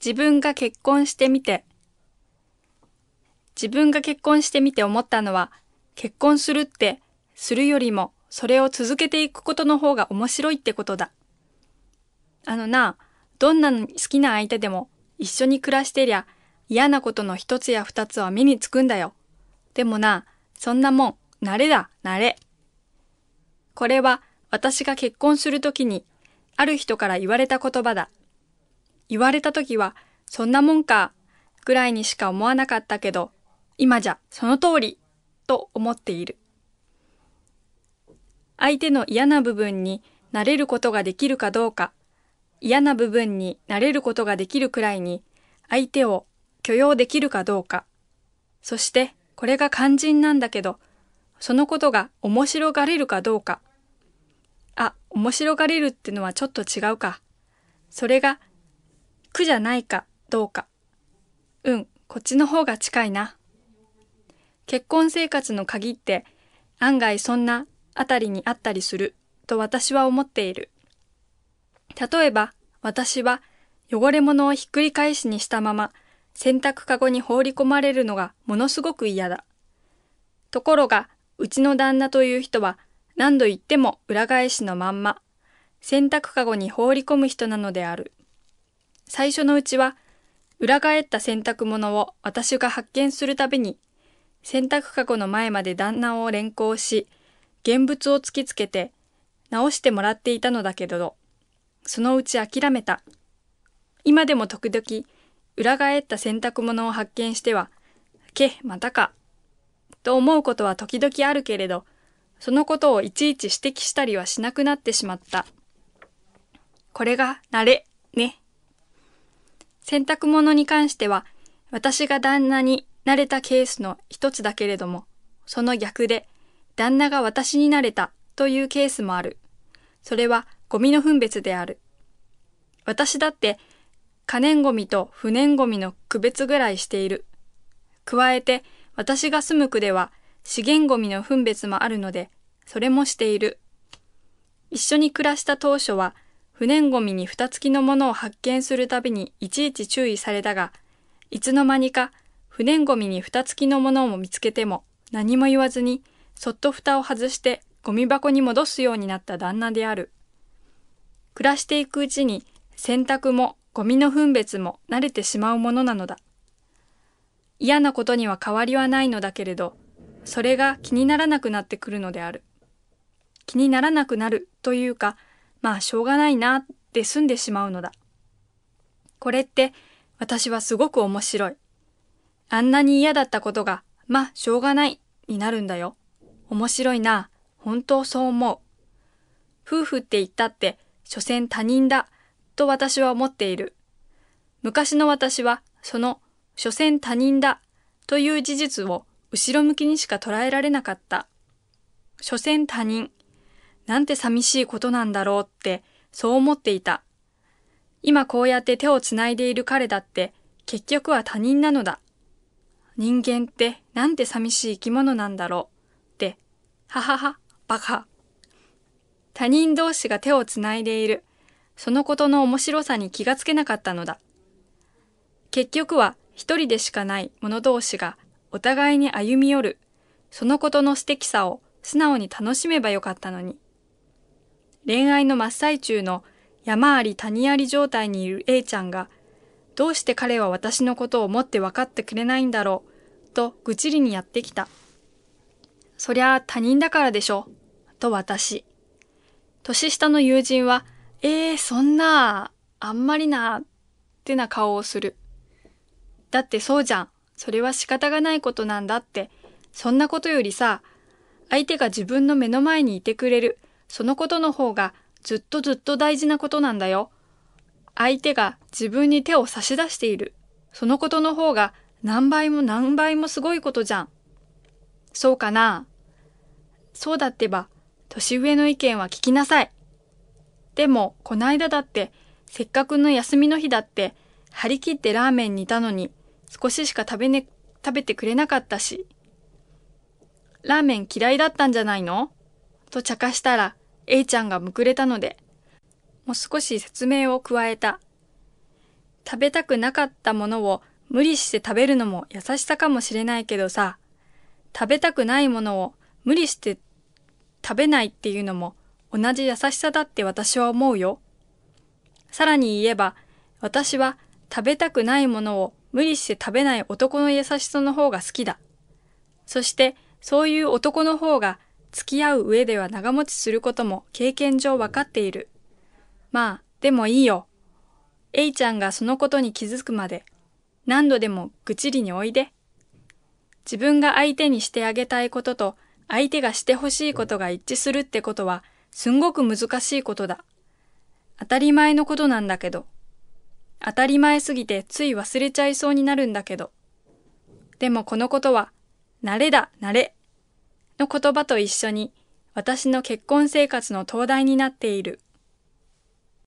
自分が結婚してみて思ったのは、結婚するってするよりもそれを続けていくことの方が面白いってことだ。どんな好きな相手でも一緒に暮らしてりゃ嫌なことの一つや二つは目につくんだよ。でもそんなもん、慣れだ、慣れ。これは私が結婚するときにある人から言われた言葉だ。言われたときはそんなもんかぐらいにしか思わなかったけど、今じゃその通りと思っている。相手の嫌な部分に慣れることができるかどうか、嫌な部分に慣れることができるくらいに相手を許容できるかどうか、そしてこれが肝心なんだけど、そのことが面白がれるかどうか。面白がれるってのはちょっと違うか。それが苦じゃないかどうか。こっちの方が近いな。結婚生活の鍵って案外そんなあたりにあったりすると私は思っている。例えば私は汚れ物をひっくり返しにしたまま洗濯かごに放り込まれるのがものすごく嫌だ。ところがうちの旦那という人は何度言っても裏返しのまんま洗濯かごに放り込む人なのである。最初のうちは裏返った洗濯物を私が発見するたびに洗濯かごの前まで旦那を連行し現物を突きつけて直してもらっていたのだけれど、そのうち諦めた。今でも時々裏返った洗濯物を発見してはまたかと思うことは時々あるけれど、そのことをいちいち指摘したりはしなくなってしまった。これが慣れね。洗濯物に関しては私が旦那に慣れたケースの一つだけれども、その逆で旦那が私に慣れたというケースもある。それはゴミの分別である。私だって可燃ゴミと不燃ゴミの区別ぐらいしている。加えて私が住む区では資源ゴミの分別もあるので、それもしている。一緒に暮らした当初は不燃ゴミに蓋付きのものを発見するたびにいちいち注意されたが、いつの間にか不燃ゴミに蓋付きのものを見つけても何も言わずにそっと蓋を外してゴミ箱に戻すようになった旦那である。暮らしていくうちに洗濯もゴミの分別も慣れてしまうものなのだ。嫌なことには変わりはないのだけれど、それが気にならなくなってくるのである。気にならなくなるというか、しょうがないなって済んでしまうのだ。これって私はすごく面白い。あんなに嫌だったことが、しょうがないになるんだよ。面白いな。本当そう思う。夫婦って言ったって、所詮他人だと私は思っている。昔の私はその所詮他人だという事実を後ろ向きにしか捉えられなかった。所詮他人。なんて寂しいことなんだろうってそう思っていた。今こうやって手をつないでいる彼だって結局は他人なのだ。人間ってなんて寂しい生き物なんだろうって、ははは、バカ。他人同士が手をつないでいる、そのことの面白さに気がつけなかったのだ。結局は一人でしかない者同士がお互いに歩み寄る、そのことの素敵さを素直に楽しめばよかったのに。恋愛の真っ最中の山あり谷あり状態にいる A ちゃんが、どうして彼は私のことを思って分かってくれないんだろう、と愚痴りにやってきた。そりゃあ他人だからでしょ、と私。年下の友人は、そんな、あんまりな、ってな顔をする。だってそうじゃん。それは仕方がないことなんだって。そんなことよりさ、相手が自分の目の前にいてくれる、そのことの方がずっとずっと大事なことなんだよ。相手が自分に手を差し出している、そのことの方が何倍も何倍もすごいことじゃん。そうかな。そうだってば、年上の意見は聞きなさい。でも、こないだだって、せっかくの休みの日だって、張り切ってラーメン煮たのに、少ししか食べてくれなかったし。ラーメン嫌いだったんじゃないの？と茶化したら、A ちゃんがむくれたので、もう少し説明を加えた。 食べたくなかったものを無理して食べるのも優しさかもしれないけどさ、食べたくないものを無理して食べないっていうのも同じ優しさだって私は思うよ。さらに言えば、私は食べたくないものを無理して食べない男の優しさの方が好きだ。そしてそういう男の方が付き合う上では長持ちすることも経験上わかっている。まあ、でもいいよ。A ちゃんがそのことに気づくまで何度でも愚痴りにおいで。自分が相手にしてあげたいことと相手がしてほしいことが一致するってことはすんごく難しいことだ。当たり前のことなんだけど。当たり前すぎてつい忘れちゃいそうになるんだけど。でもこのことは、慣れだ、慣れの言葉と一緒に私の結婚生活の灯台になっている。